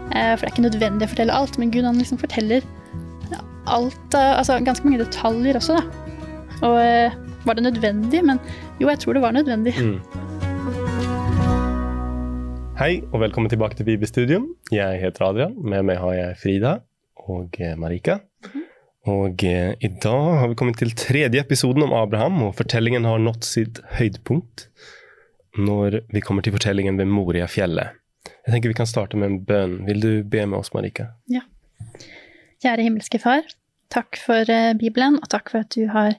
For det ikke nødvendig å fortelle alt, men Gud han liksom forteller alt, altså ganske mange detaljer også da. Og var det nødvendig? Men jo, jeg tror det var nødvendig. Hei, og velkommen tilbake til Bibelstudium. Jeg heter Adrian, med meg har jeg Frida og Marika. Og i dag har vi kommet til tredje episoden om Abraham, og fortellingen har nått sitt høydepunkt når vi kommer til fortellingen ved Moriafjellet. Jeg tenker vi kan starte med en bønn. Vil du be med oss, Marika? Ja. Kjære himmelske far, takk for Bibelen, og takk for at du har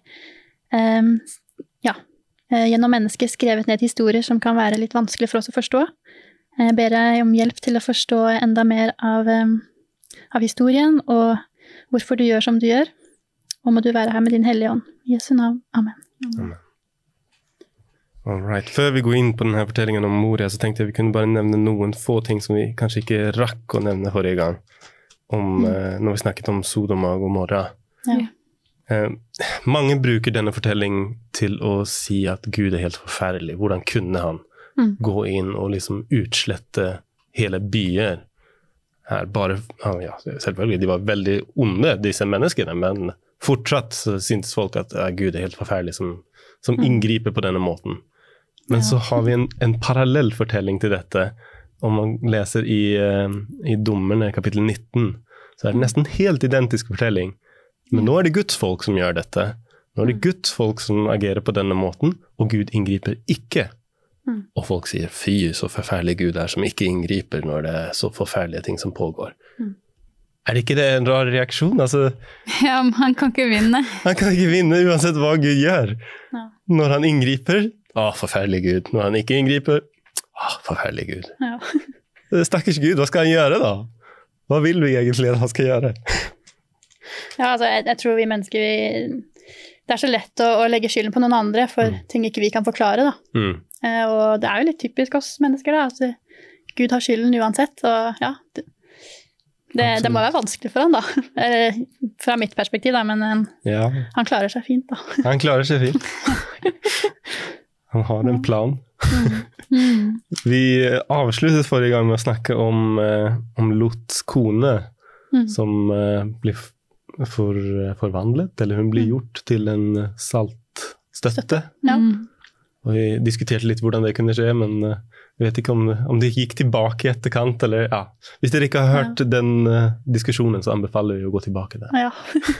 gjennom mennesker skrevet ned historier som kan være litt vanskelig for oss å forstå. Jeg ber deg om hjelp til å forstå enda mer av historien, og hvorfor du gjør som du gjør. Og må du være her med din hellige ånd. I Jesu navn. Amen. Amen. Alright. Før vi går inn på denne fortellingen om Moria, så tenkte jeg vi kunne bare nevne noen få ting som vi kanskje ikke rakk å nevne forrige gang. Når vi snakket om Sodom og Gomorra. Ja. Mange bruker denne fortellingen til å si at Gud helt forferdelig. Hvordan kunne han gå inn og liksom utslette hele byer? Her bare, selvfølgelig, de var veldig onde, disse menneskene, men fortsatt så syntes folk at Gud helt forferdelig som inngriper på denne måten. Men så har vi en parallell fortelling til dette. Om man leser i Dommerne kapittel 19, så det nesten helt identisk fortelling. Men nå det Guds folk som gjør dette. Nå det Guds folk som agerer på denne måten, og Gud inngriper ikke. Og folk sier, fy, så forferdelig Gud som ikke inngriper når det så forferdelige ting som pågår. Det ikke det en rar reaksjon? Altså, ja, men han kan ikke vinne. Han kan ikke vinne uansett hva Gud gjør. Ja. Når han inngriper, forferdelig Gud. Når han ikke inngriper, forferdelig Gud. Ja. Stakkars Gud, hva skal han gjøre da? Hva vil vi egentlig at han skal gjøre? Ja, altså, jeg tror vi mennesker, det så lett å legge skylden på noen andre for ting ikke vi kan forklare da. Og det jo litt typisk oss mennesker da, at Gud har skylden uansett, og ja, det må være vanskelig for han da, fra mitt perspektiv da, men han klarer seg fint da. Han klarer seg fint. Han har en plan. Vi avsluttet forrige gang med å snakke om Lots kone, som blir forvandlet, eller hun blir gjort til en saltstøtte. Ja. Og vi diskuterte litt hvordan det kunne skje, men jeg vet ikke om det gikk tilbake i etterkant, eller Hvis dere ikke har hørt den diskusjonen, så anbefaler vi å gå tilbake der. Ja.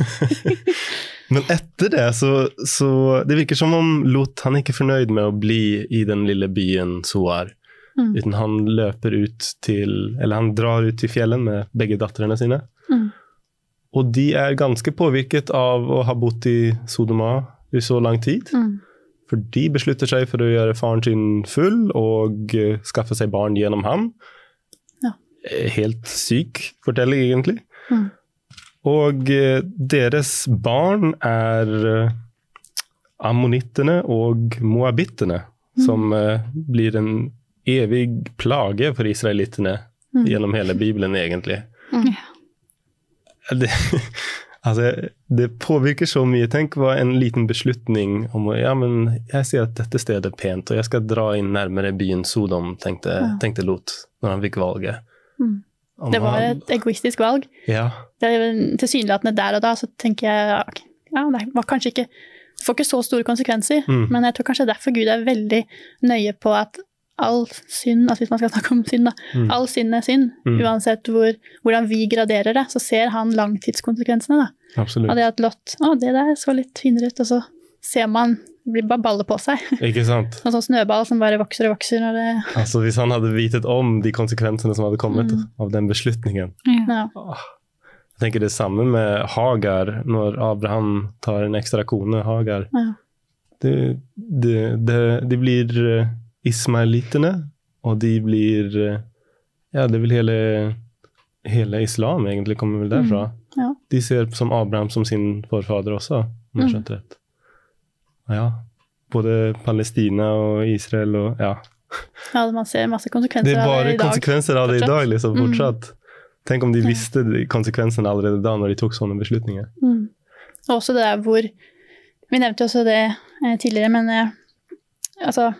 Men etter det, så det virker som om Lot, han ikke fornøyd med å bli i den lille byen Zoar, uten han løper ut eller han drar ut til fjellen med begge datterene sine. Og de ganske påvirket av å ha bodd i Sodoma i så lang tid. For de beslutter seg for å gjøre faren sin full og skaffe seg barn gjennom ham. Ja. Helt syk fortelling egentlig. Og deres barn ammonittene og moabittene, som blir en evig plage for israelittene gjennom hele Bibelen egentlig. Det påvirker så mye. Tenk hva en liten beslutning om men jeg sier at dette stedet pent, og jeg skal dra inn nærmere byen Sodom, tenkte Lot, når han fikk valget. Det var et egoistisk valg. Ja. Det tilsynelatende der og da, så tenker jeg, det var kanskje ikke, det får ikke så store konsekvenser, men jeg tror kanskje derfor Gud veldig nøye på at all synd, altså hvis man skal snakke om synd da, all synd synd, uansett hvordan vi graderer det, så ser han langtidskonsekvensene da. Absolutt. Og det at Lot, det der så litt finere ut, og så ser man, det blir bare baller på seg. Ikke sant? En sånn snøball som bare vokser og vokser. Når det... Altså hvis han hadde vitet om de konsekvensene som hadde kommet av den beslutningen. Ja. Jeg tenker det samme med Hagar, når Abraham tar en ekstra kone, Hagar. Ja. De blir... ismaelittene, og de blir, det vil hele islam egentlig kommer vel derfra. Ja. De ser som Abraham som sin forfader også, om jeg skjønte rett. Ja, både Palestina og Israel og Ja, man ser masse konsekvenser av det i dag. Det bare konsekvenser av det i dag, liksom, fortsatt. Tenk om de visste konsekvensene allerede da, når de tok sånne beslutninger. Og også det der hvor, vi nevnte også det tidligere, men altså,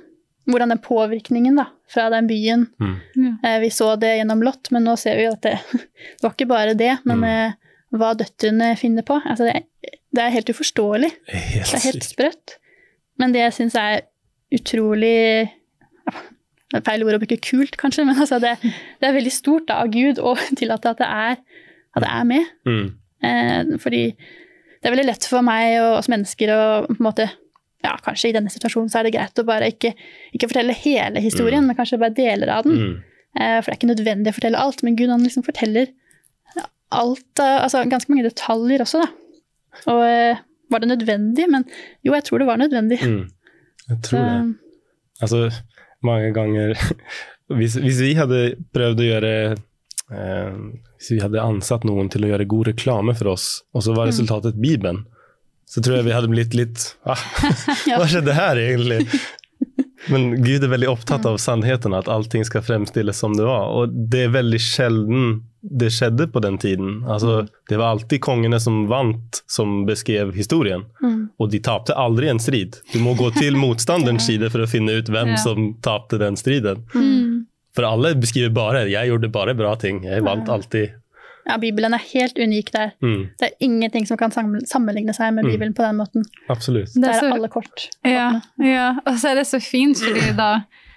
hvordan den påvirkningen da, fra den byen, vi så det gjennom Lot, men nå ser vi jo at det var ikke bare det, men hva døtrene finner på. Altså det helt uforståelig. Det helt sprøtt. Men det jeg synes utrolig, det feil ord å bruke kult kanskje, men altså det veldig stort da, av Gud å tillate at det med. Fordi det veldig lett for meg og oss mennesker å på en måte, ja, kanskje i denne situasjonen så det greit å bare ikke fortelle hele historien, men kanskje bare deler av den. For det ikke nødvendig å fortelle alt, men Gud han liksom forteller alt, altså ganske mange detaljer også da. Og var det nødvendig? Men jo, jeg tror det var nødvendig. Jeg tror det. Altså, mange ganger, hvis vi hadde prøvd å gjøre, hvis vi hadde ansatt noen til å gjøre god reklame for oss, og så var resultatet Bibelen, så tror jeg vi hadde blitt litt, hva skjedde her egentlig? Men Gud veldig opptatt av sannheten, at allting skal fremstilles som det var, og det veldig sjelden det skjedde på den tiden. Altså, det var alltid kongene som vant som beskrev historien, og de tapte aldri en strid. Du må gå til motstanderens side for å finne ut hvem som tapte den striden. For alle beskriver bare, jeg gjorde bare bra ting, jeg vant alltid. Ja, Bibelen helt unik der. Det ingenting som kan sammenligne seg med Bibelen på den måten. Absolutt. Det alle kort. Ja, og så det så fint, fordi da,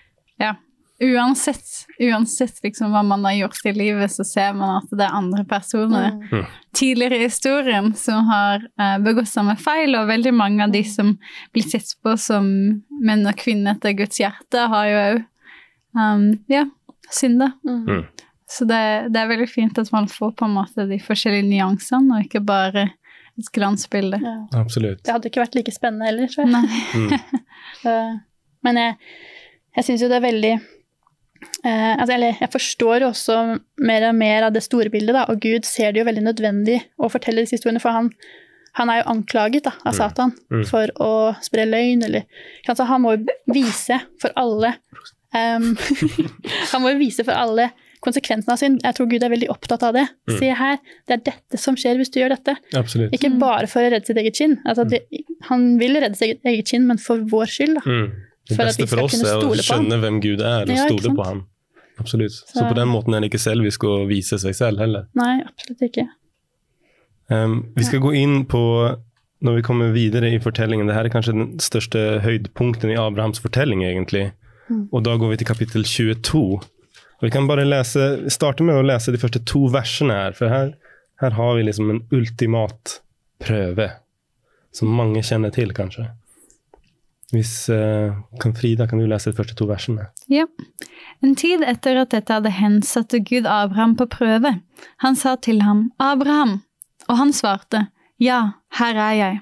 uansett liksom hva man har gjort i livet, så ser man at det andre personer tidligere i historien som har begått samme feil, og veldig mange av de som blir sett på som menn og kvinner etter Guds hjerte, har jo synda. Så det veldig fint at man får på en måte de forskjellige nyansene, og ikke bare et glansbilde. Ja. Absolutt. Det hadde ikke vært like spennende heller, tror jeg. Men jeg synes jo det veldig, jeg forstår jo også mer og mer av det store bildet, da, og Gud ser det jo veldig nødvendig å fortelle disse historiene, for han jo anklaget da, av Satan for å spre løgn, eller kanskje han må jo vise for alle, han må jo vise for alle konsekvensen av synd. Jeg tror Gud veldig opptatt av det. Se her, det dette som skjer hvis du gjør dette. Absolutt. Ikke bare for å redde sitt eget skinn. Altså, han vil redde sitt eget skinn, men for vår skyld. Da. Det beste for oss å skjønne hvem Gud og stole på ham. Absolutt. Så på den måten det ikke selvisk å vise seg selv heller. Nei, absolutt ikke. Vi skal gå inn på, når vi kommer videre i fortellingen, det her kanskje den største høydepunkten i Abrahams fortelling egentlig. Og da går vi til kapittel 22. Og vi kan bare starte med å lese de første 2 versene her, for her har vi liksom en ultimat prøve, som mange kjenner til kanskje. Hvis Frida, kan du lese de første 2 versene? Ja. En tid etter at dette hadde hendt, satte Gud Abraham på prøve. Han sa til ham, Abraham, og han svarte, ja, her jeg.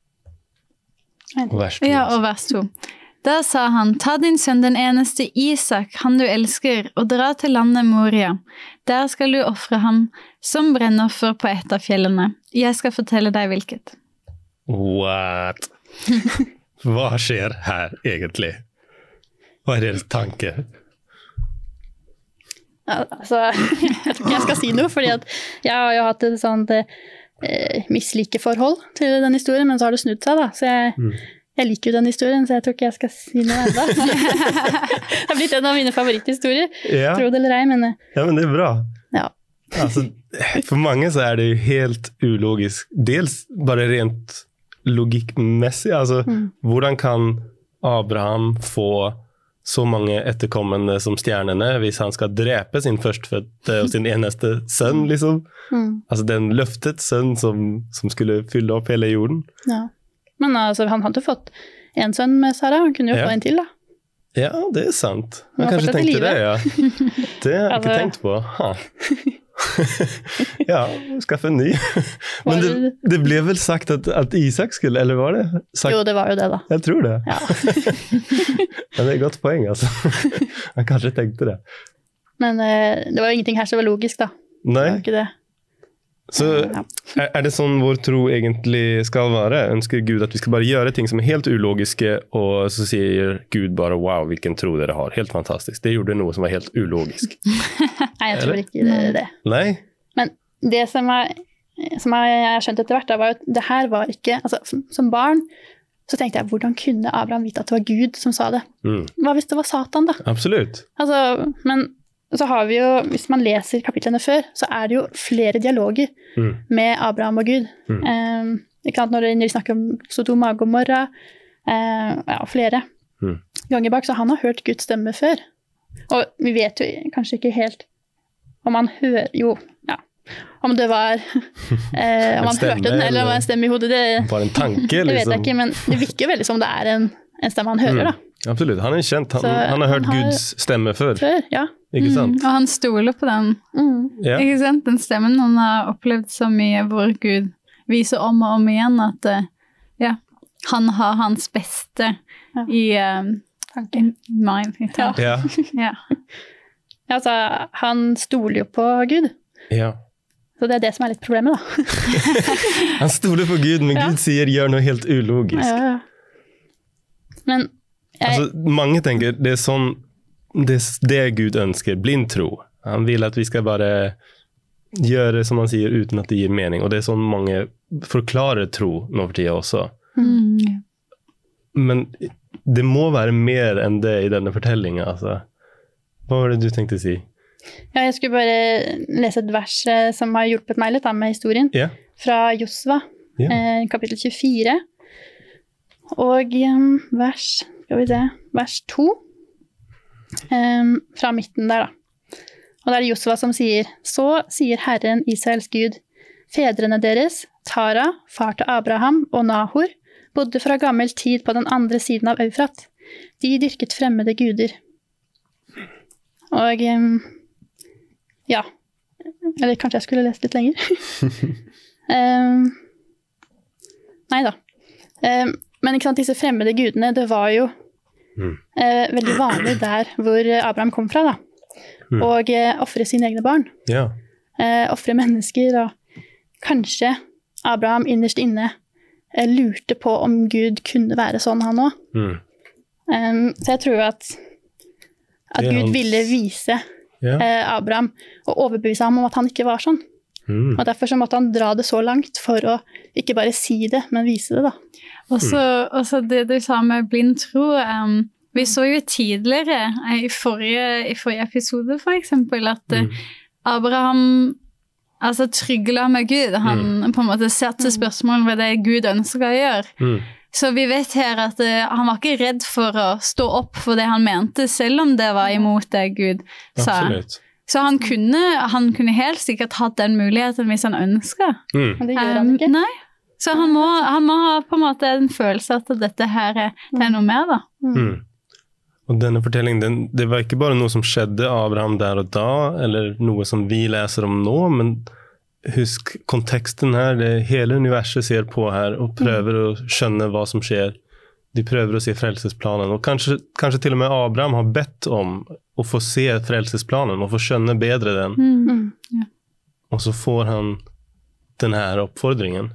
Og vers 2. Ja, og vers 2. Da sa han, ta din sønn den eneste Isak, han du elsker, og dra til landet Moria. Der skal du offre ham som brennoffer på et av fjellene. Jeg skal fortelle deg hvilket. What? Hva skjer her egentlig? Hva deres tanke? Altså, jeg tror ikke jeg skal si noe, fordi at jeg har jo hatt et sånt mislikeforhold til den historien, men så har det snudd seg da, så jeg liker jo den historien, så jeg tror ikke jeg skal si noe enda. Det har blitt en av mine favoritthistorier, tro det eller ei, men... Ja, men det bra. Ja. Altså, for mange så det jo helt ulogisk. Dels bare rent logikkmessig, altså hvordan kan Abraham få så mange etterkommende som stjernene hvis han skal drepe sin førstfødte og sin eneste sønn, liksom? Altså den løftet sønn som skulle fylle opp hele jorden. Ja. Men altså, han hadde fått en sønn med Sara, han kunne jo få en til da. Ja, det sant. Han kanskje tenkte det, ja. Det har jeg ikke tenkt på. Ja, skaffe en ny. Men det ble vel sagt at Isak skulle, eller var det sagt? Jo, det var jo det da. Jeg tror det. Ja. Men det et godt poeng, altså. Han kanskje tenkte det. Men det var jo ingenting her som var logisk da. Nei. Det var ikke det. Så det sånn vår tro egentlig skal være? Ønsker Gud at vi skal bare gjøre ting som helt ulogiske, og så sier Gud bare, wow, hvilken tro dere har. Helt fantastisk. Det gjorde noe som var helt ulogisk. Nei, jeg tror ikke det. Nei? Men det som jeg skjønte etter hvert, da, var at det her var ikke, altså som barn, så tenkte jeg, hvordan kunne Abraham vite at det var Gud som sa det? Hva hvis det var Satan da? Absolutt. Altså, men så har vi jo, hvis man leser kapitlene før, så det jo flere dialoger med Abraham og Gud. Ikke sant, når vi snakker om Sodoma og Gomorra, flere ganger bak, så han har hørt Guds stemme før. Og vi vet jo kanskje ikke helt om han hører, om det var, om han hørte den, eller om det var en stemme i hodet. Bare en tanke, liksom. Det vet jeg ikke, men det virker veldig som det en stemme han hører, da. Absolutt, han kjent, han har hørt Guds stemme før. Ja. Ikke sant? Og han stoler på den. Ikke sant? Den stemmen han har opplevd så mye, hvor Gud viser om og om igjen at han har hans beste i mind. Altså, han stoler jo på Gud. Ja. Så det det som litt problemet, da. Han stoler på Gud, men Gud sier gjør noe helt ulogisk. Ja. Men altså, mange tenker, det sånn, det Gud ønsker, blind tro. Han vil at vi skal bare gjøre som han sier, uten at det gir mening. Og det sånn mange forklarer tro nå for tiden også. Men det må være mer enn det i denne fortellingen, altså. Hva var det du tenkte å si? Ja, jeg skulle bare lese et vers som har hjulpet meg litt med historien. Fra Josva, kapittel 24. Og vers 2. Fra midten der, da. Og det Josva som sier, så sier Herren Israels Gud, fedrene deres, Tara, far til Abraham og Nahor, bodde fra gammel tid på den andre siden av Eufrat. De dyrket fremmede guder. Og eller kanskje jeg skulle lest litt lenger. Neida. Men ikke sant, disse fremmede gudene, det var jo veldig vanlig der hvor Abraham kom fra, da. Og offre sine egne barn. Offre mennesker, og kanskje Abraham innerst inne lurte på om Gud kunne være sånn han også. Så jeg tror at Gud ville vise Abraham og overbevise ham om at han ikke var sånn. Og derfor så måtte han dra det så langt for å ikke bare si det, men vise det, da. Også det du sa med blind tro, vi så jo tidligere i forrige episode for eksempel at Abraham trygla med Gud. Han på en måte satte spørsmål ved det Gud ønsker å gjøre. Så vi vet her at han var ikke redd for å stå opp for det han mente, selv om det var imot det Gud sa. Absolutt. Så han kunne helt sikkert hatt den muligheten hvis han ønsket. Men det gjør han ikke. Nei. Så han må ha på en måte en følelse at dette her det noe mer, da. Og denne fortellingen, det var ikke bare noe som skjedde Abraham der og da, eller noe som vi leser om nå, men husk konteksten her, hele universet ser på her og prøver å skjønne hva som skjer. De prøver å se frelsesplanen, og kanskje til og med Abraham har bedt om å få se frelsesplanen og få skjønne bedre den. Og så får han den her oppfordringen.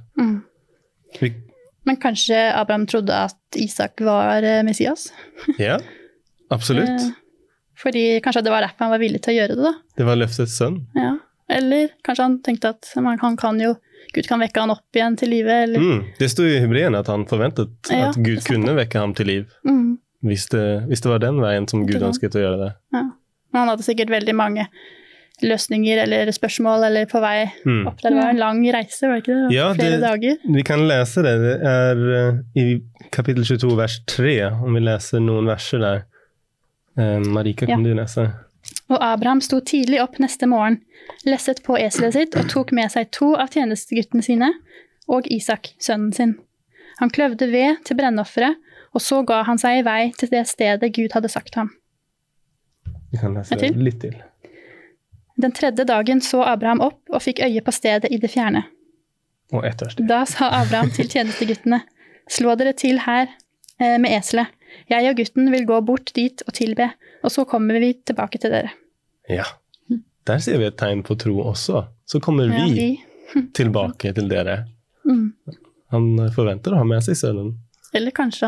Men kanskje Abraham trodde at Isak var Messias? Ja, absolutt. Fordi kanskje det var derfor han var villig til å gjøre det, da. Det var løftets sønn. Ja. Eller kanskje han tenkte at Gud kan vekke han opp igjen til livet. Eller? Det stod i Hebreerne at han forventet at Gud kunne vekke ham til liv. Hvis det var den veien som Gud ønsket å gjøre det. Ja. Men han hadde sikkert veldig mange løsninger eller spørsmål eller på vei opp. Det var en lang reise, var det ikke det? Ja, flere dager. Vi kan lese det. Det i kapittel 22, vers 3, om vi leser noen verser der. Marika, kan du lese? Og Abraham sto tidlig opp neste morgen, lesset på eselet sitt og tok med seg 2 av tjenesteguttene sine og Isak, sønnen sin. Han kløvde ved til brennofferet, og så ga han seg i vei til det stedet Gud hadde sagt ham. Vi kan lese det litt til. Den 3. dagen så Abraham opp og fikk øye på stedet i det fjerne. Og ett vers til. Da sa Abraham til tjenesteguttene, slå dere til her med eselet. Jeg og gutten vil gå bort dit og tilbe, og så kommer vi tilbake til dere. Ja, der ser vi et tegn på tro også. Så kommer vi tilbake til dere. Han forventer å ha med seg sønnen. Eller kanskje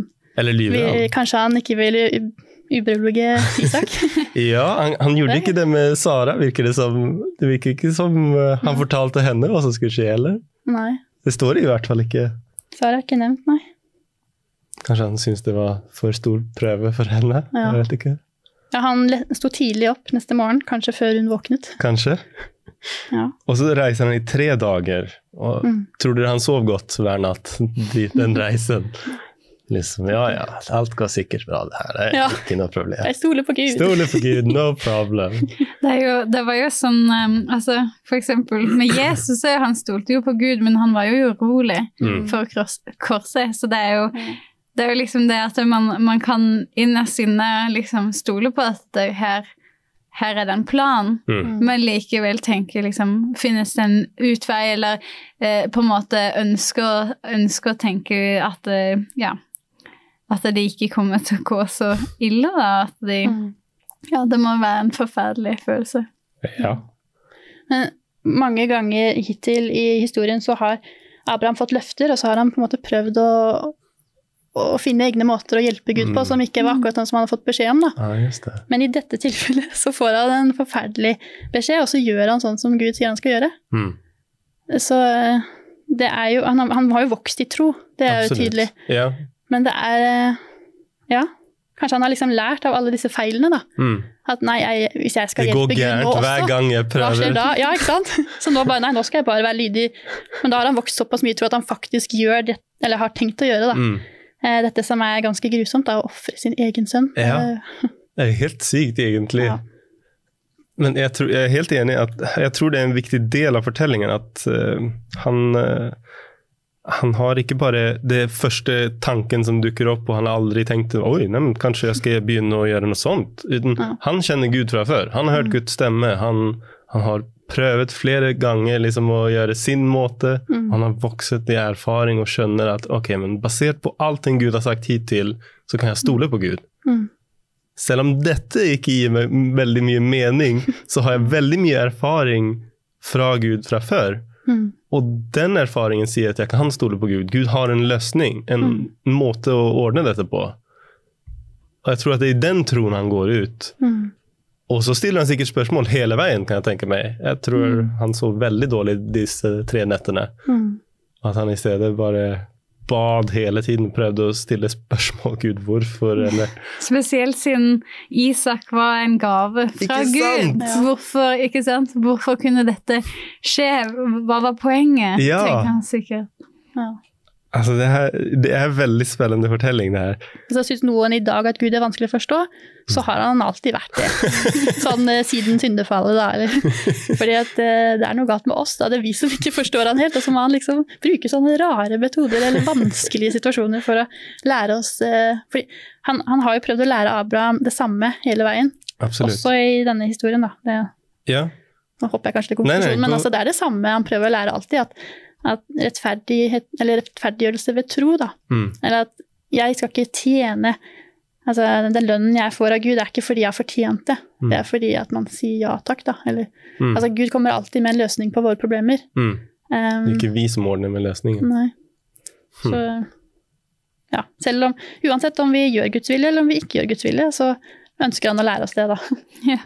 han ikke vil uberolige Isak. Ja, han gjorde ikke det med Sara, virker det som. Det virker ikke som han fortalte henne hva som skulle skje, eller? Nei. Det står i hvert fall ikke. Sara er ikke nevnt, nei. Kanskje han synes det var for stor prøve for henne, jeg vet ikke. Ja, han stod tidlig opp neste morgen, kanskje før hun våknet. Kanskje. Ja. Og så reiser han i 3 dager, og tror dere han sov godt hver natt, den reisen? Liksom, alt går sikkert bra, det her er ikke noe problem. Jeg stoler på Gud. Stoler på Gud, no problem. Det var jo sånn, altså, for eksempel, med Jesus han stolte jo på Gud, men han var jo urolig for korset, så det er jo liksom det at man kan innerst inne liksom stole på at det her er det en plan, men likevel tenke liksom, finnes det en utvei, eller på en måte ønske å tenke at at det ikke kommer til å gå så ille da, at det må være en forferdelig følelse. Ja. Men mange ganger hittil i historien så har Abraham fått løfter, og så har han på en måte prøvd å finne egne måter å hjelpe Gud på, som ikke var akkurat som han har fått beskjed om. Da. Ja, just det. Men i dette tilfellet så får han en forferdelig beskjed, og så gjør han sånn som Gud sier han skal gjøre. Så det er jo, han har jo vokst i tro, det er jo tydelig. Ja. Men det er, kanskje han har liksom lært av alle disse feilene da. At nei, hvis jeg skal hjelpe Gud nå også. Det går gærent hver gang jeg prøver. Hva skjer da? Ja, ikke sant? Så nå bare, nå skal jeg bare være lydig. Men da har han vokst såpass mye tro at han faktisk gjør det, eller har tenkt å gjøre da. Dette som er ganske grusomt da, å offre sin egen sønn. Ja, det er helt sykt egentlig. Ja. Men jeg er helt enig at jeg tror det er en viktig del av fortellingen at han har ikke bare det første tanken som dukker opp, og han har aldri tenkt, kanskje jeg skal begynne å gjøre noe sånt. Han kjenner Gud fra før. Han har hørt Guds stemme. Han har prøvet flere ganger liksom, å gjøre sin måte. Han har vokset i erfaring og skjønner at men basert på alt Gud har sagt hittil, så kan jeg stole på Gud. Selv om dette ikke gir meg veldig mye mening, så har jeg veldig mye erfaring fra Gud fra før. Og den erfaringen sier at jeg kan stole på Gud. Gud har en løsning, en måte å ordne dette på. Og jeg tror at det er i den troen han går ut. Og så stiller han sikkert spørsmål hele veien, kan jeg tenke meg. Jeg tror han så veldig dårlig disse 3 nettene. At han i stedet bare bad hele tiden, prøvde å stille spørsmål, Gud, hvorfor? Eller... Spesielt siden Isak var en gave fra Gud. Hvorfor, ikke sant? Hvorfor kunne dette skje? Hva var poenget? Tenker han sikkert. Ja. Altså det er veldig spennende fortelling det her. Hvis jeg synes noen i dag at Gud er vanskelig å forstå, så har han alltid vært det. Sånn siden syndefallet da. Eller? Fordi at det er noe galt med oss da. Det er vi som ikke forstår han helt, og så må han liksom bruke sånne rare metoder eller vanskelige situasjoner for å lære oss. Fordi han har jo prøvd å lære Abraham det samme hele veien. Absolutt. Også i denne historien da. Ja. Nå hopper jeg kanskje til konklusjonen, men altså, det er det samme han prøver å lære alltid, at rettferdiggjørelse ved tro da, eller at jeg skal ikke tjene, altså den lønnen jeg får av Gud er ikke fordi jeg har fortjent det, det er fordi at man sier ja takk da, eller, altså Gud kommer alltid med en løsning på våre problemer. Det er ikke vi som ordner med løsningen. Nei, så ja, selv om, uansett om vi gjør Guds vilje eller om vi ikke gjør Guds vilje, så ønsker han å lære oss det da. Ja.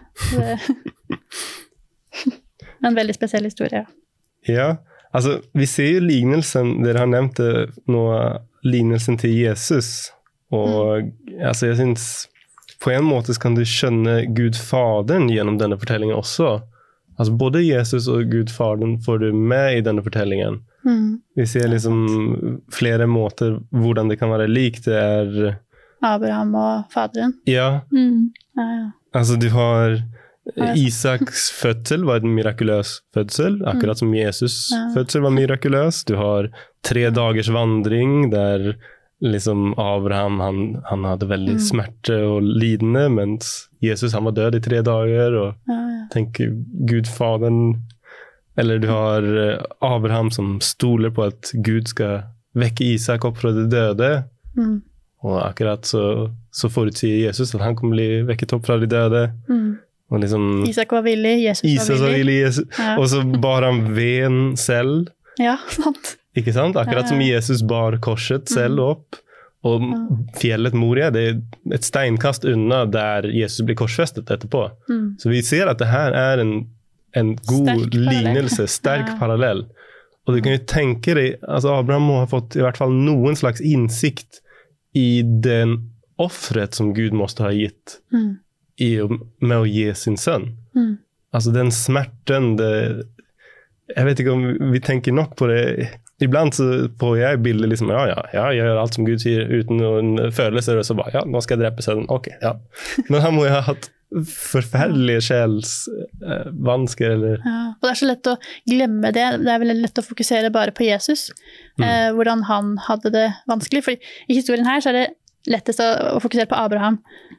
En veldig spesiell historie. Ja. Altså, vi ser jo lignelsen, dere har nevnt nå, lignelsen til Jesus, og altså, jeg synes på en måte kan du skjønne Gud Faderen gjennom denne fortellingen også. Altså, både Jesus og Gud Faderen får du med i denne fortellingen. Vi ser liksom flere måter hvordan det kan være lik. Det er Abraham og Faderen. Ja. Altså, du har... Isaks fødsel var en mirakuløs fødsel, akkurat som Jesus fødsel var mirakuløs. Du har 3 dagers vandring der liksom Abraham, han hadde veldig smerte og lidende, mens Jesus han var død i 3 dager, og tenker Gud Faderen, eller du har Abraham som stoler på at Gud skal vekke Isak opp fra de døde, og akkurat så forutsier Jesus at han kommer bli vekket opp fra de døde. Og liksom, Isak var villig, Jesus var villig. Og så bar han veden selv. Ja, sant. Ikke sant? Akkurat som Jesus bar korset selv opp. Og fjellet Moria, det er et steinkast unna der Jesus blir korsfestet etterpå. Så vi ser at det her er en god lignelse, sterk parallell. Og du kan jo tenke deg, altså Abraham må ha fått i hvert fall noen slags innsikt i den offret som Gud måste ha gitt med å ge sin sønn. Alltså den smärtan, jag vet inte om vi tänker nog på det. Ibland så får jag bilder liksom, jag gör allt som Gud säger uten noen følelser, og så bare, nå skal jeg drepe sønnen. Ok, ja. Men han må jo ha hatt forferdelige sjelsvansker, eller... Ja, og det så lett å glemme det. Det veldig lett å fokusere bare på Jesus, hvordan han hadde det vanskelig. For i historien her så det lettest å fokusere på Abraham.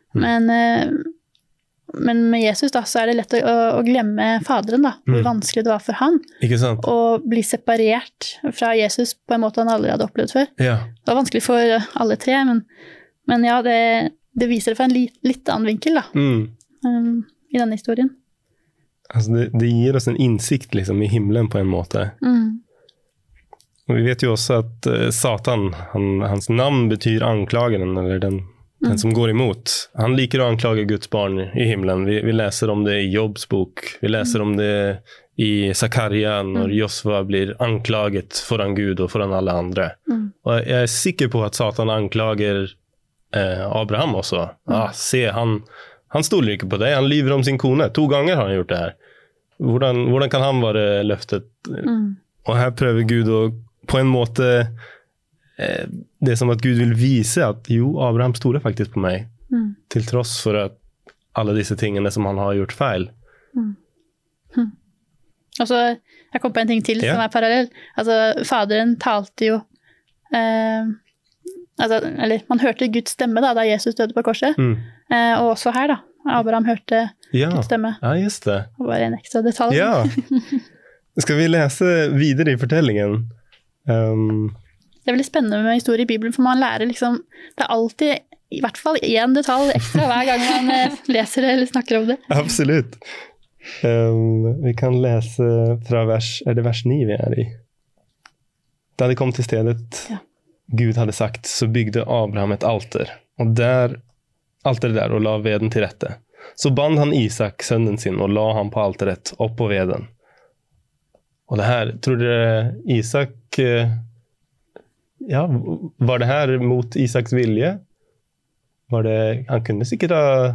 Men med Jesus da, så det lett å glemme faderen da, hvor vanskelig det var for han. Ikke sant? Å bli separert fra Jesus på en måte han aldri hadde opplevd før. Ja. Det var vanskelig for alle tre, men ja, det viser det fra en litt annen vinkel da, i denne historien. Altså det gir oss en innsikt liksom, i himmelen på en måte. Og vi vet jo også at Satan, hans navn betyr anklageren, eller den som går emot. Han liker å anklage Guds barn i himmelen. Vi läser om det i Jobbs bok. Vi läser om det i Zakaria når Josva blir anklaget foran Gud og foran alle andre. Og jeg sikker på at Satan anklager Abraham også. Se, han stoler ikke på deg. Han lyver om sin kone. 2 ganger har han gjort det her. Hvordan kan han være løftet? Og her prøver Gud å på en måte... det som at Gud vil vise at jo, Abraham stoler faktisk på meg til tross for at alle disse tingene som han har gjort feil. Og så, jeg kom på en ting til som parallell. Altså, faderen talte jo eller man hørte Guds stemme da Jesus døde på korset. Og også her da, Abraham hørte Guds stemme. Ja, just det. Og bare en ekstra detalj. Ja. Skal vi lese videre i fortellingen? Det veldig spennende med historie i Bibelen, for man lærer liksom, det alltid i hvert fall en detalj ekstra hver gang man leser det eller snakker om det. Absolutt. Vi kan lese fra vers 9 vi i. Da de kom til stedet Gud hadde sagt, så bygde Abraham et alter, og alteret der, og la veden til rette. Så band han Isak, sønnen sin, og la han på alteret, opp på veden. Og det her, tror dere Isak... Ja, var det her mot Isaks vilje? Han kunne sikkert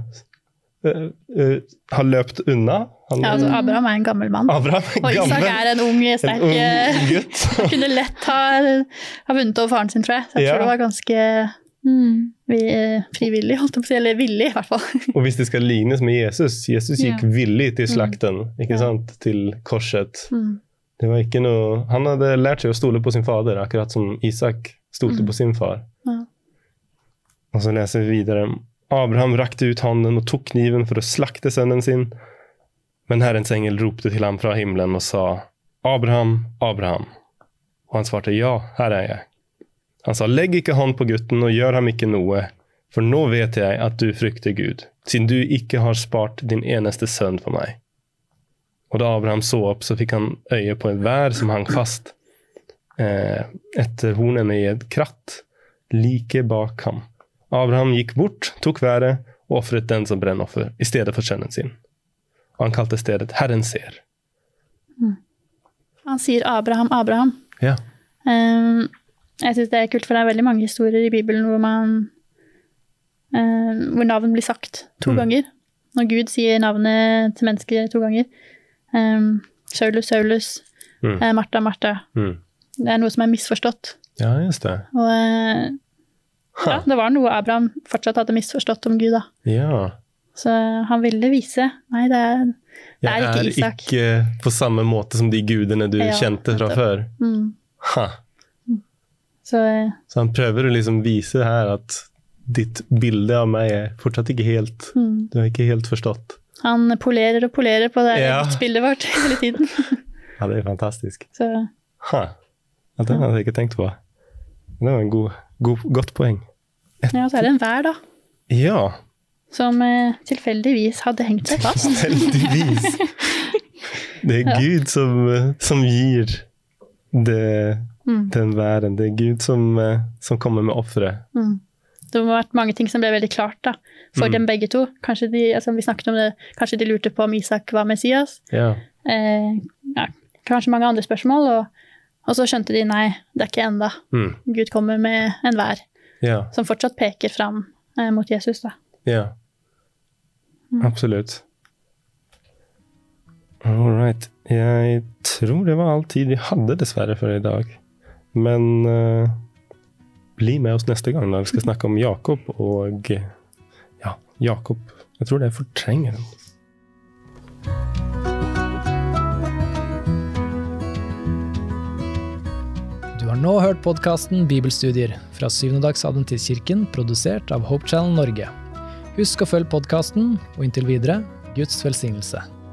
ha løpt unna. Altså Abraham en gammel mann. Og Isak en ung, sterk gutt. Han kunne lett ha vunnet over faren sin, tror jeg. Så jeg tror det var ganske frivillig, holdt jeg på å si, eller villig i hvert fall. Og hvis det skal lignes med Jesus gikk villig til slakten, ikke sant? Til korset. Det var ikke noe... Han hadde lært seg å stole på sin fader, akkurat som Isak stolte på sin far. Og så leser vi videre. Abraham rakte ut hånden og tok kniven for å slakte sønnen sin. Men Herrens engel ropte til ham fra himmelen og sa, Abraham, Abraham. Og han svarte, ja, her jeg. Han sa, legg ikke hånd på gutten og gjør ham ikke noe, for nå vet jeg at du frykter Gud, siden du ikke har spart din eneste sønn for meg. Og da Abraham så opp, så fikk han øye på en vær som hang fast etter hornene i et kratt, like bak ham. Abraham gikk bort, tok været og offret den som brennoffer i stedet for sønnen sin. Og han kalte stedet Herren ser. Han sier Abraham, Abraham. Ja. Jeg synes det kult, for det veldig mange historier i Bibelen hvor navn blir sagt 2 ganger. Når Gud sier navnet til mennesker 2 ganger. Saulus, Saulus, Martha, Martha. Det noe som misforstått. Ja, just det. Og det var noe Abraham fortsatt hadde misforstått om Gud da. Ja. Så han ville vise, nei, det er ikke Isak. Jeg ikke på samme måte som de gudene du kjente fra før. Så han prøver å liksom vise her at ditt bilde av meg er fortsatt ikke helt, du har ikke helt forstått. Han polerer og polerer på det bildet vårt hele tiden. Ja, det er fantastisk. Så. Ja, den hadde jeg ikke tenkt på. Det var en godt poeng. Ja, så det en vær da. Ja. Som tilfeldigvis hadde hengt seg fast. Tilfeldigvis. Det er Gud som gir den væren. Det er Gud som kommer med offeret. Det må ha vært mange ting som ble veldig klart da, for dem begge to. Kanskje vi snakket om det, kanskje de lurte på om Isak var Messias. Ja. Kanskje mange andre spørsmål, og så skjønte de, nei, det er ikke enda. Gud kommer med en vær. som fortsatt peker fram mot Jesus da. Ja, absolutt. All right. Jeg tror det var all tid vi hadde dessverre for i dag. Men bli med oss neste gang når vi skal snakke om Jakob og Jakob. Jeg tror det er fortrengeren. Du har nå hørt podcasten Bibelstudier fra Syvnedags Adventistkirken, produsert av Hope Channel Norge. Husk å følge podcasten, og inntil videre, Guds velsignelse.